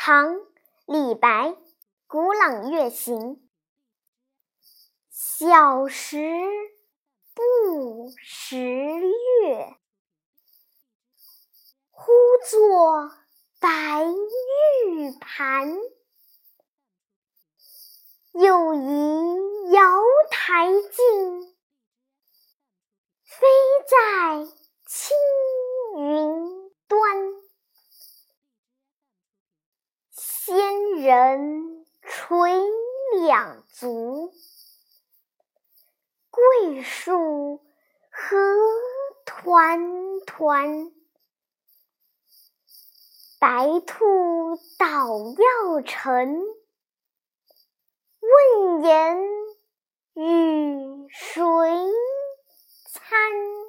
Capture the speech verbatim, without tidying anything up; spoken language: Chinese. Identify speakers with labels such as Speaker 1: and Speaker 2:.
Speaker 1: 唐·李白，古朗月行。小时不识月，呼作白玉盘。又疑瑶台镜，飞在青云端。仙人垂两足，桂树何团团。白兔捣药成，问言与谁餐？